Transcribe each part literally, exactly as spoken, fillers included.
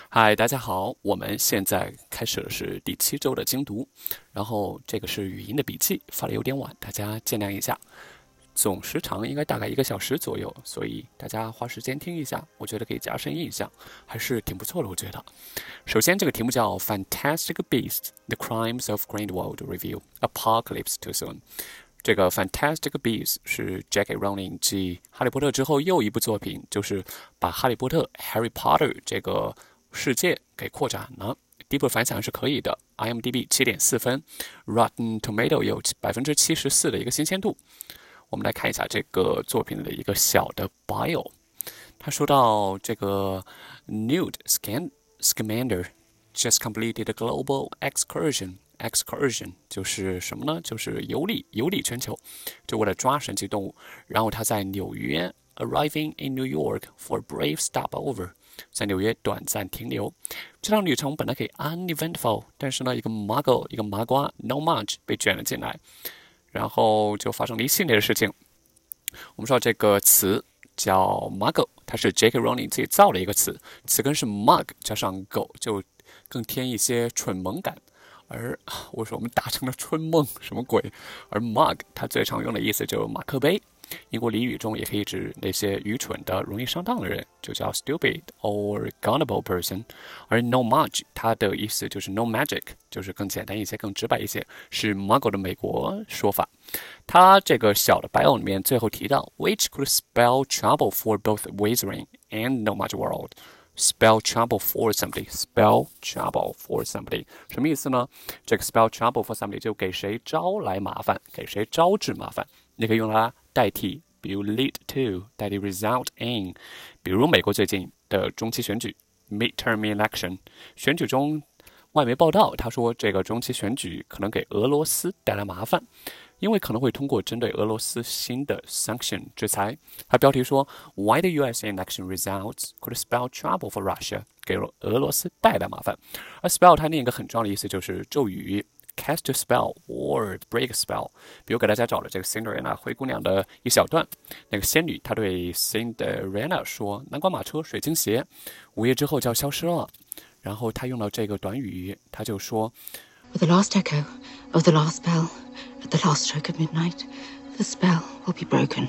嗨，大家好，我们现在开始的是第七周的精读，然后这个是语音的笔记，发的有点晚，大家见谅一下。总时长应该大概一个小时左右，所以大家花时间听一下，我觉得可以加深印象，还是挺不错的。我觉得，首先这个题目叫《Fantastic Beasts: The Crimes of Grindelwald Review: Apocalypse Too Soon》。这个《Fantastic Beasts》是 J K. Rowling 继《哈利波特》之后又一部作品，就是把《哈利波特》（Harry Potter） 这个世界给扩展了。第一部反响是可以的 ，I M D B 七点四分 ，Rotten Tomato 有百分之七十四的一个新鲜度。我们来看一下这个作品的一个小的 bio。他说到这个 Newt Scamander just completed a global excursion。excursion 就是什么呢？就是游历，游历全球，就为了抓神奇动物。然后他在纽约 arriving in New York for a brief stopover， 在纽约短暂停留。这趟旅程本来可以 uneventful， 但是呢，一个 muggle， 一个麻瓜 no mudge 被卷了进来，然后就发生了一系列的事情。我们说这个词叫 muggle， 它是 J K. Rowling 自己造的一个词，词根是 mug 加上狗，就更添一些蠢萌感。而我说我们打成了春梦，什么鬼？而 mug 它最常用的意思就是马克杯，英国俚语中也可以指那些愚蠢的、容易上当的人，就叫 stupid or gullible person。而 no mudge 它的意思就是 no magic， 就是更简单一些、更直白一些，是 muggle 的美国说法。它这个小的 bio 里面最后提到 ，which could spell trouble for both Wizarding and no mudge world。spell trouble for somebody, spell trouble for somebody 什么意思呢？这个 spell trouble for somebody 就给谁招来麻烦，给谁招致麻烦，你可以用它代替，比如 lead to 代替 result in， 比如美国最近的中期选举 midterm election， 选举中外媒报道，他说这个中期选举可能给俄罗斯带来麻烦。因为可能会通过针对俄罗斯新的 sanction 制裁。它标题说 Why the U S election results could spell trouble for Russia， 给俄罗斯带来麻烦。而 spell 它另一个很重要的意思就是咒语 cast a spell or break a spell。比如给大家找了这个 Cinderella 灰姑娘的一小段，那个仙女她对 Cinderella 说：“南瓜马车、水晶鞋，午夜之后就要消失了。”然后她用了这个短语，她就说 With the last echo of the last bell, at the last stroke of midnight, the spell will be broken,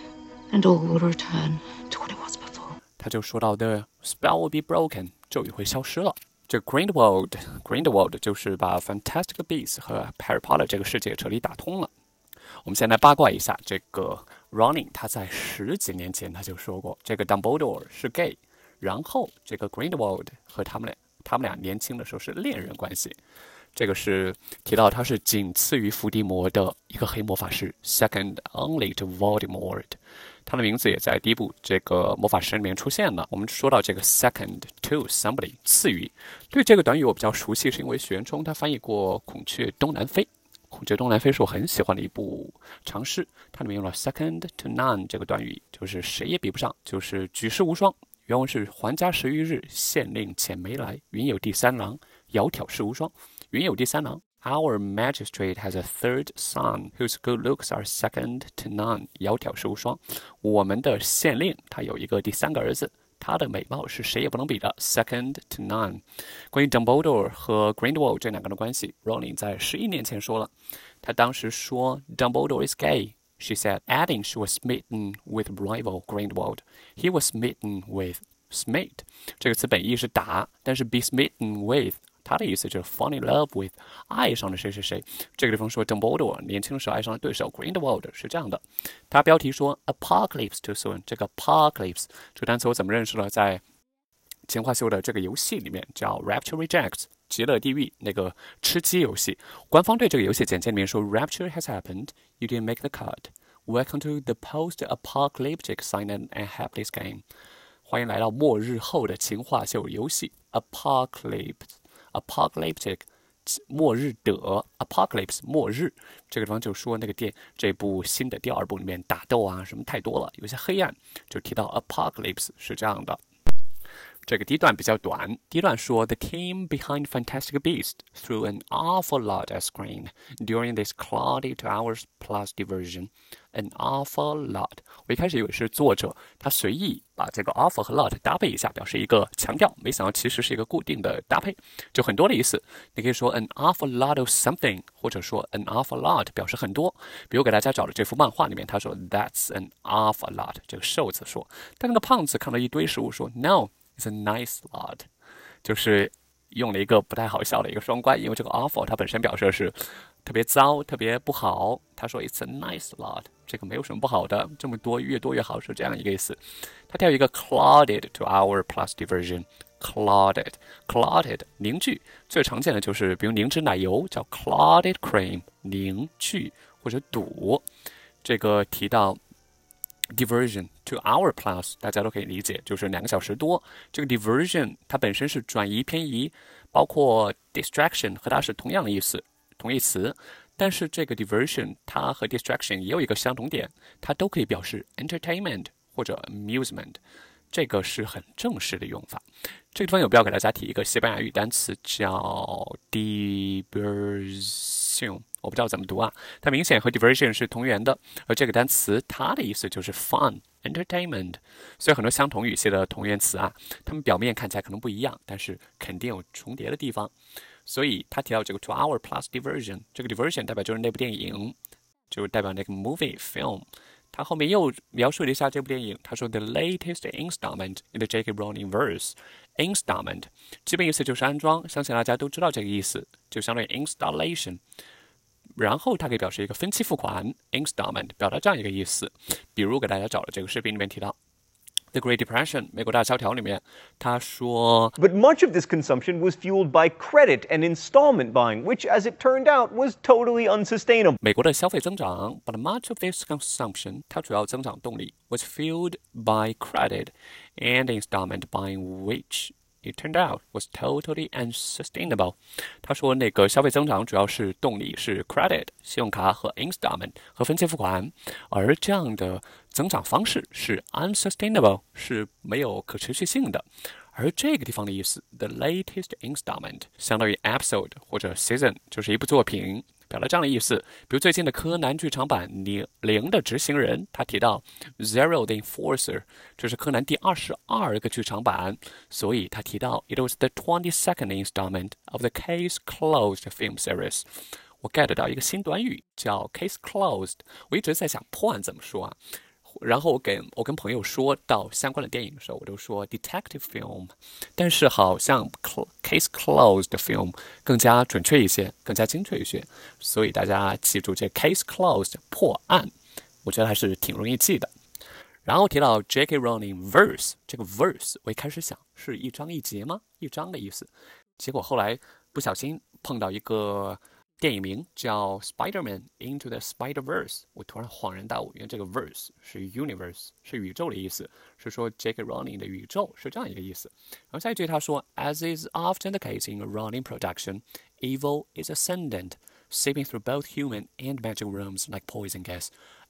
and all will return to what it was before. 他就说到 The spell will be broken， 咒语会消失了。这 Grindelwald Grindelwald 就是把 Fantastic Beasts 和 Harry Potter 这个世界彻底打通了。我们先来八卦一下，这个 Rowling 他在十几年前他就说过，这个 Dumbledore 是 gay， 然后这个 Grindelwald 和他们俩他们俩年轻的时候是恋人关系。这个是提到他是仅次于伏地魔的一个黑魔法师 ，second only to Voldemort。他的名字也在第一部这个魔法师里面出现了。我们说到这个 second to somebody 次于，对这个短语我比较熟悉，是因为许渊冲他翻译过《孔雀东南飞》。《孔雀东南飞》是我很喜欢的一部长诗，它里面用了 second to none 这个短语，就是谁也比不上，就是举世无双。原文是还家十余日，县令遣没来，云有第三郎，窈窕世无双。云有第三郎 ，Our magistrate has a third son whose good looks are second to none。窈窕世无双。我们的县令他有一个第三个儿子，他的美貌是谁也不能比的 ，second to none。关于 Dumbledore 和 Grindelwald 这两个人的关系 ，Rowling 在十一年前说了，他当时说 Dumbledore is gay。She said, adding she was smitten with rival Grindelwald. He was smitten with smite。这个词本意是打，但是 be smitten with。他的意思就是 fall in love with， 爱上了谁谁谁。这个地方说 Dumbledore 年轻的时候爱上了对手 Grindelwald 是这样的。他标题说 Apocalypse Too Soon， 这个 Apocalypse 这个单词我怎么认识呢？在钱化修的这个游戏里面叫 Rapture Rejects， 极乐地狱那个吃鸡游戏。官方对这个游戏简介里面说 Rapture has happened, you didn't make the cut. Welcome to the post-apocalyptic silent and helpless game。 欢迎来到末日后的情话秀游戏 Apocalypse。Apocalyptic 末日的 Apocalypse 末日，这个地方就说那个电这部新的第二部里面打斗啊什么太多了，有些黑暗，就提到 Apocalypse 是这样的。 这个第一段比较短，第一段说 The team behind Fantastic Beasts threw an awful lot at screen during this cloudy two hours plus diversion. An awful lot. 我一开始以为是作者他随意把这个 awful 和 lot 搭配一下，表示一个强调，没想到其实是一个固定的搭配，就很多的意思。你可以说 an awful lot of something， 或者说 an awful lot 表示很多。比如给大家找的这幅漫画里面，他说 That's an awful lot， 这个瘦子说，但那个胖子看到一堆食物说 No。It's a nice lot， 就是用了一个不太好笑的一个双关，因为这个 awful 它本身表示的是特别糟、特别不好。他说 It's a nice lot， 这个没有什么不好的，这么多越多越好是这样一个意思。他跳一个 clouded to our plus diversion。clouded clouded 凝聚，最常见的就是比如凝脂奶油叫 clouded cream， 凝聚或者堵。这个提到diversion to hour plus， 大家都可以理解，就是两个小时多。这个 diversion 它本身是转移、偏移，包括 distraction 和它是同样的意思，同义词。但是这个 diversion 它和 distraction 也有一个相同点，它都可以表示 entertainment 或者 amusement， 这个是很正式的用法。这个地方有必要给大家提一个西班牙语单词叫 diversion。我不知道怎么读啊，它明显和 diversion 是同源的，而这个单词它的意思就是 fun、entertainment， 所以很多相同语系的同源词啊，它们表面看起来可能不一样，但是肯定有重叠的地方。所以他提到这个 two hour plus diversion， 这个 diversion 代表就是那部电影，就是代表那个 movie film。他后面又描述了一下这部电影，他说 The latest installment in the J K Rowling verse。installment 基本意思就是安装，相信大家都知道这个意思，就相当于 installation。然后它可以表示一个分期付款 installment， 表达这样一个意思。比如给大家找了这个视频里面提到 The Great Depression 美国大萧条里面，他说 But much of this consumption was fueled by credit and installment buying, which as it turned out was totally unsustainable. 美国的消费增长 But much of this consumption 它主要增长动力 was fueled by credit and installment buying, which It turned out was totally unsustainable. 他说那个消费增长主要是动力是 credit 信用卡和 installment 和分期付款，而这样的增长方式是 unsustainable 是没有可持续性的。而这个地方的意思 the latest installment 相当于 episode 或者 season， 就是一部作品，表达这样的意思。比如最近的柯南剧场版零的执行人，他提到 Zero the Enforcer， 这是柯南第二十二个剧场版，所以他提到 It was the twenty-second installment of the Case Closed film series。 我 get 到一个新短语叫 Case Closed， 我一直在想破案怎么说啊，然后我跟我跟朋友说到相关的电影的时候，我都说 detective film， 但是好像 case closed film 更加准确一些，更加精确一些，所以大家记住这 case closed 破案，我觉得还是挺容易记的。然后提到 J K Rowling verse， 这个 verse 我一开始想是一章一节吗？一章的意思，结果后来不小心碰到一个电影名叫 Spider-Man Into the Spider-Verse， 我突然恍然大悟，原来这个 verse 是 universe， 是宇宙的意思，是说 J K Rowling 的宇宙是这样一个意思。然后下一句他说 As is often the case in a Rowling production, evil is ascendant, seeping through both human and magic realms like poison gas.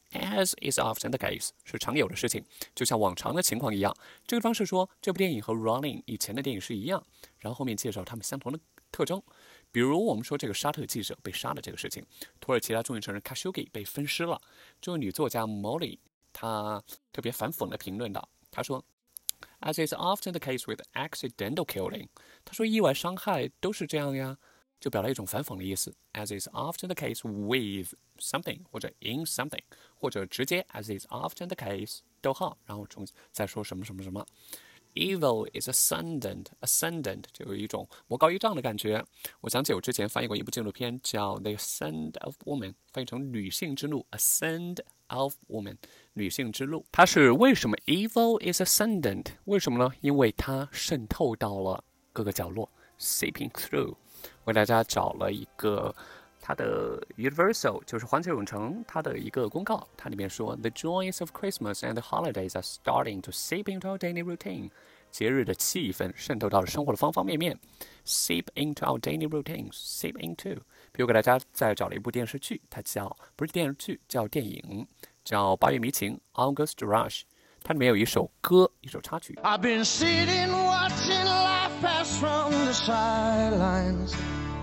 As is often the case 是常有的事情，就像往常的情况一样。这个方式说这部电影和 Rowling 以前的电影是一样，然后后面介绍他们相同的特征。比如我们说这个沙特记者被杀的这个事情，土耳其他众议承认 Khashoggi 被分尸了。这位女作家 Molly 她特别反讽地评论道，她说 As is often the case with accidental killing， 她说意外伤害都是这样呀，就表达一种反讽的意思。As is often the case with something 或者 in something， 或者直接 As is often the case 逗号，然后重再说什么什么什么。Evil is ascendant, ascendant 就有一种魔高一丈的感觉。我想起我之前翻译过一部纪录片叫 The Ascent of Woman， 翻译成女性之路 Ascend of Woman， 女性之路。它是为什么 Evil is ascendant？ 为什么呢？因为它渗透到了各个角落 seeping through。 我给大家找了一个它的 Universal 就是环球影城它的一个公告，它里面说 The joys of Christmas and the holidays are starting to seep into our daily routine。 节日的气氛渗透到了生活的方方面面 seep into our daily routines seep into。 比如给大家再找了一部电视剧，它叫不是电视剧，叫电影，叫八月迷情 August Rush。 它里面有一首歌，一首插曲。 I've been sitting watching life pass from the sidelines,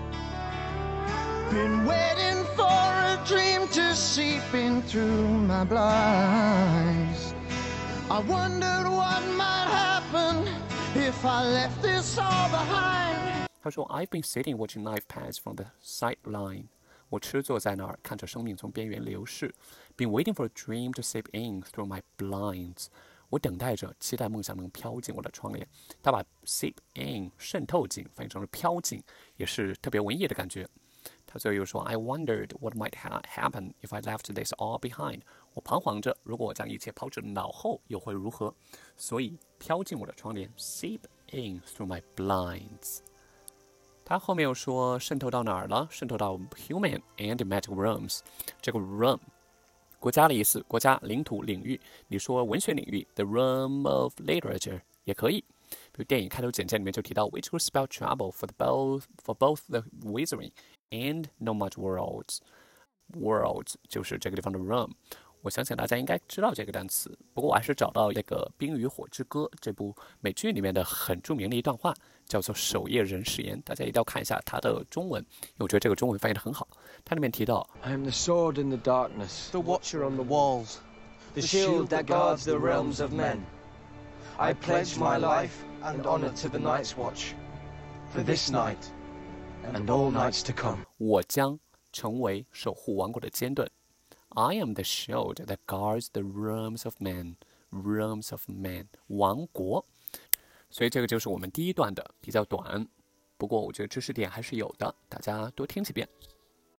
been waiting for a dream to seep in through my blinds. I wondered what might happen if I left this all behind. 他说 I've been sitting watching life pass from the sideline. 我痴坐在那儿，看着生命从边缘流逝。Been waiting for a dream to seep in through my blinds. 我等待着，期待梦想能飘进我的窗帘。他把 seep in 渗透进翻译成了飘进，也是特别文艺的感觉。他最后又说 I wondered what might ha happen if I left this all behind. 我彷徨着，如果我将一切抛至脑后，又会如何？所以飘进我的窗帘 seep in through my blinds. 他后面又说渗透到哪儿了？渗透到 human and magic realms. 这个 realm 国家的意思，国家、领土、领域。你说文学领域 the realm of literature 也可以。比如电影开头简介里面就提到 which will spell trouble for the both for both the wizarding and no much worlds. Worlds 就是这个地方的 realm。我相信大家应该知道这个单词，不过我还是找到那个《冰与火之歌》这部美剧里面的很著名的一段话，叫做守夜人誓言，大家一定要看一下它的中文，因为我觉得这个中文翻译得很好。它里面提到 I am the sword in the darkness, the watcher on the walls, the shield that guards the realms of men. I pledge my life and honor to the Night's Watch, for this night and all nights to come. 我将成为守护王国的坚盾。I am the shield that guards the realms of men. Realms of men. 王国。所以这个就是我们第一段的，比较短。不过我觉得知识点还是有的，大家多听几遍。